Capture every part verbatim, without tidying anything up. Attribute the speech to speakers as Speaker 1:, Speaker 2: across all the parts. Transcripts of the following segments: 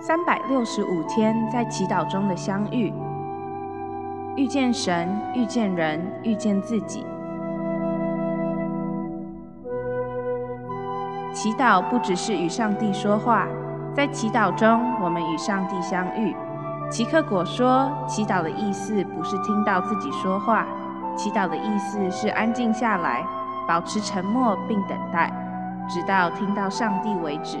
Speaker 1: 三百六十五天在祈禱中的相遇，遇見神，遇見人，遇見自己。祈禱不只是與上帝說話，在祈禱中，我們與上帝相遇。齊克果說，祈禱的意思不是聽到自己說話，祈禱的意思是安靜下來，保持沉默並等待，直到聽到上帝為止。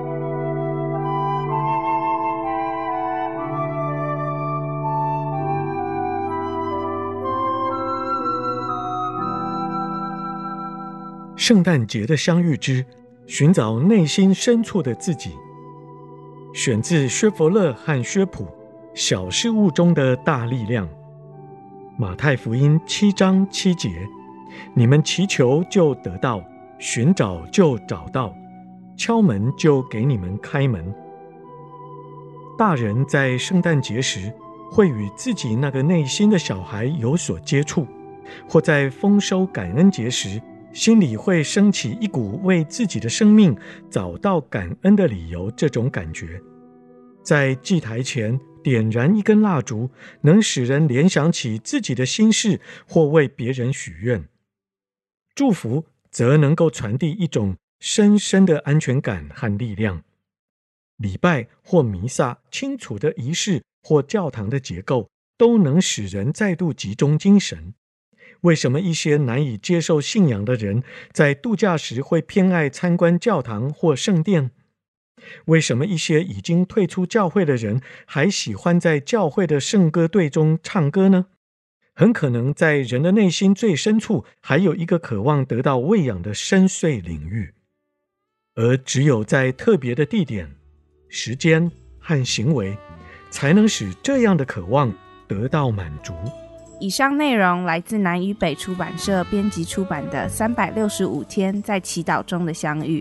Speaker 2: 聖誕節的相遇之尋找內心深處的自己，選自薛弗勒和薛普《小事物中的大力量》。馬太福音七章七節：你們祈求就得到，尋找就找到，敲門就給你們開門。大人在聖誕節時會與自己那個內心的小孩有所接觸，或在豐收感恩節時心裡會升起一股為自己的生命找到感恩的理由，這種感覺。在祭台前點燃一根蠟燭，能使人聯想起自己的心事，或為別人許願。祝福則能夠傳遞一種深深的安全感和力量。禮拜或彌撒清楚的儀式或教堂的結構，都能使人再度集中精神。為什麼一些難以接受信仰的人在度假時會偏愛參觀教堂或聖殿？為什麼一些已經退出教會的人還喜歡在教會的聖歌隊中唱歌呢？很可能在人的內心最深處還有一個渴望得到餵養的深邃領域，而只有在特別的地點、時間和行為，才能使這樣的渴望得到滿足。
Speaker 1: 以上內容來自南與北出版社編輯出版的《三百六十五天在祈禱中的相遇》。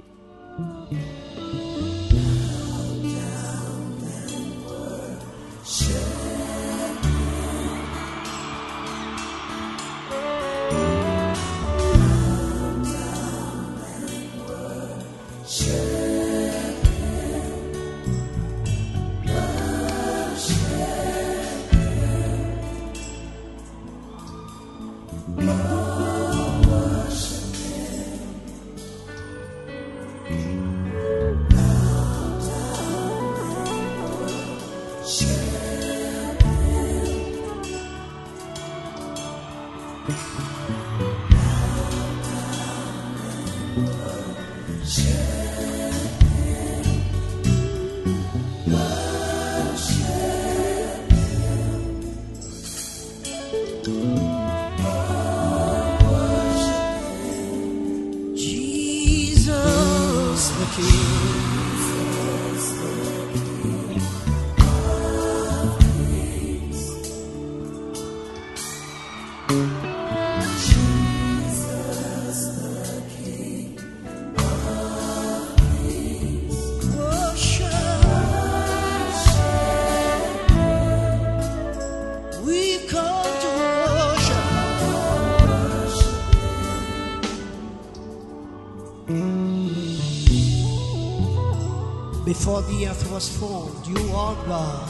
Speaker 3: Before the earth was formed, you are God.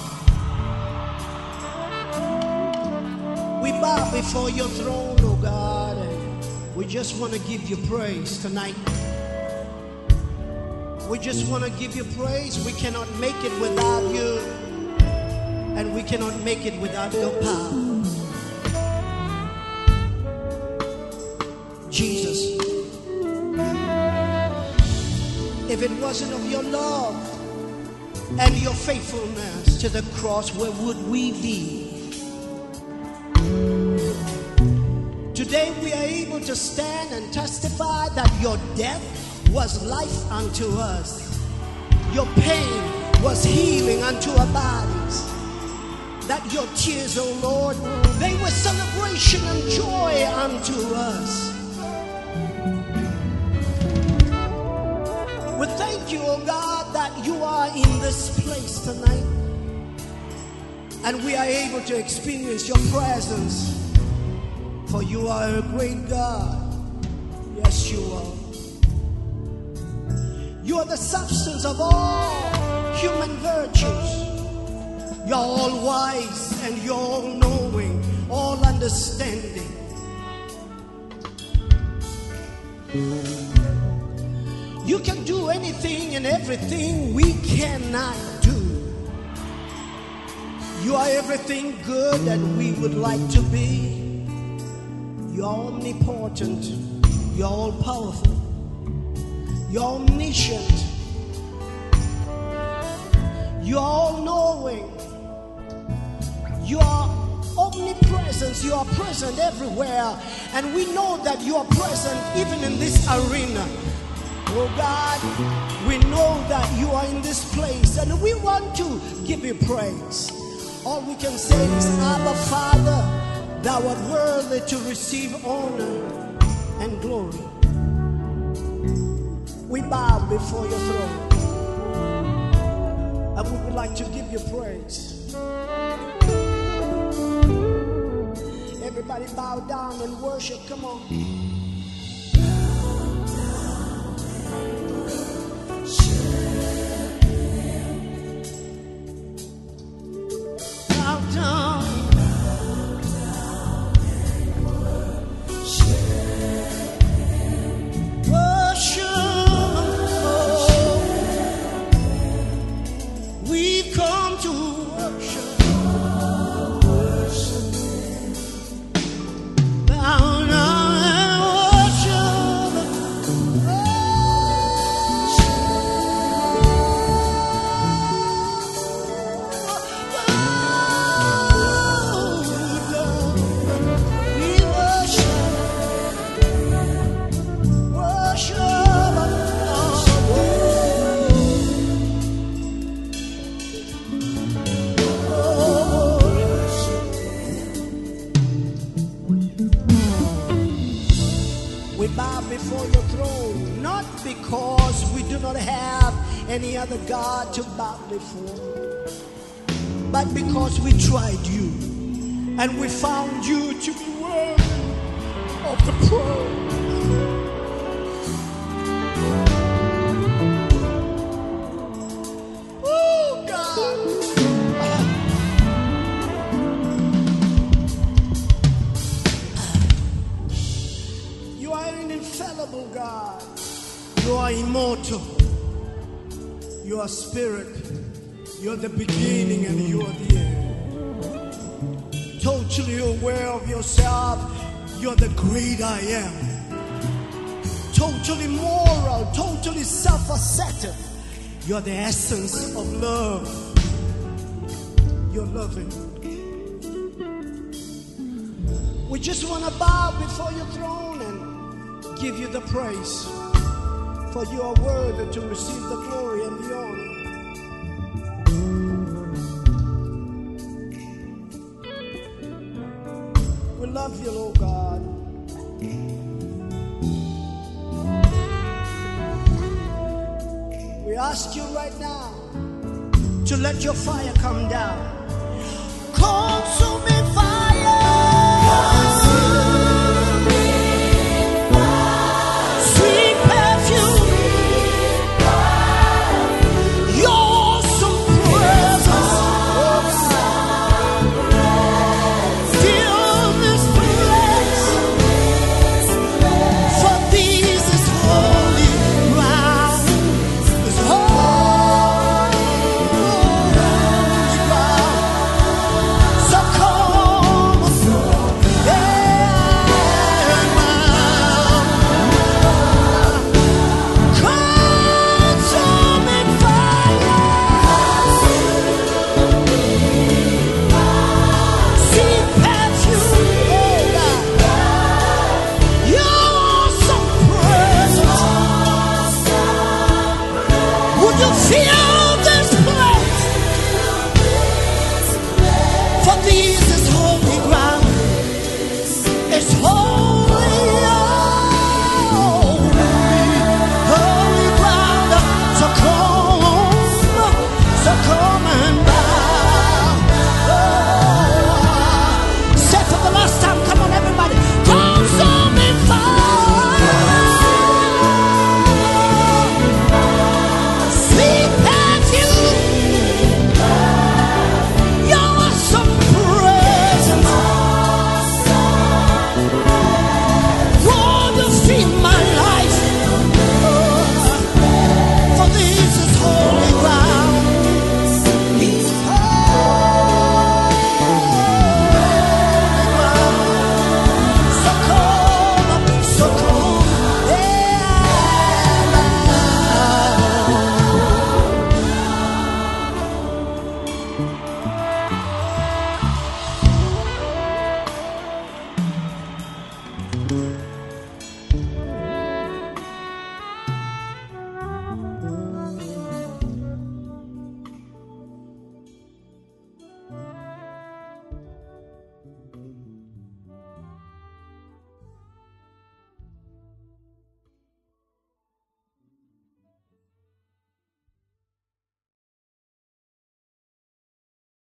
Speaker 3: We bow before your throne, oh God, and we just want to give you praise tonight. We just want to give you praise. We cannot make it without you, and we cannot make it without your power. Jesus, if it wasn't of your love and your faithfulness to the cross, where would we be? Today we are able to stand and testify that your death was life unto us. Your pain was healing unto our bodies. That your tears, oh Lord, they were celebration and joy unto us. We thank you, oh God, that you are in this place tonight, and we are able to experience your presence, for you are a great God. Yes, you are. You are the substance of all human virtues. You're all wise and you're all knowing, all understanding. You can do anything and everything we cannot do. You are everything good that we would like to be. You're omnipotent. You're all powerful. You're omniscient. You're all knowing. You are omnipresent. You are present everywhere. And we know that you are present even in this arena. Oh God, we know that you are in this place and we want to give you praise. All we can say is, Abba Father, thou art worthy to receive honor and glory. We bow before your throne and we would like to give you praise. Everybody bow down and worship. Come on. Bow down. Worship. We've come to worship. Bow down and worship. We worship. Worship. We bow before your throne, not because we do not have any other God to bow before, but because we tried you and we found you to be worthy of the praise. Oh God. You are an infallible God. You are immortal. You are spirit. You are the beginning and you are the end. Totally aware of yourself. You are the great I am. Totally moral. Totally self-assertive. You are the essence of love. You're loving. We just want to bow before your throne and give you the praise. For you are worthy to receive the glory and the honor. We love you, Lord God. We ask you right now to let your fire come down. Consume me.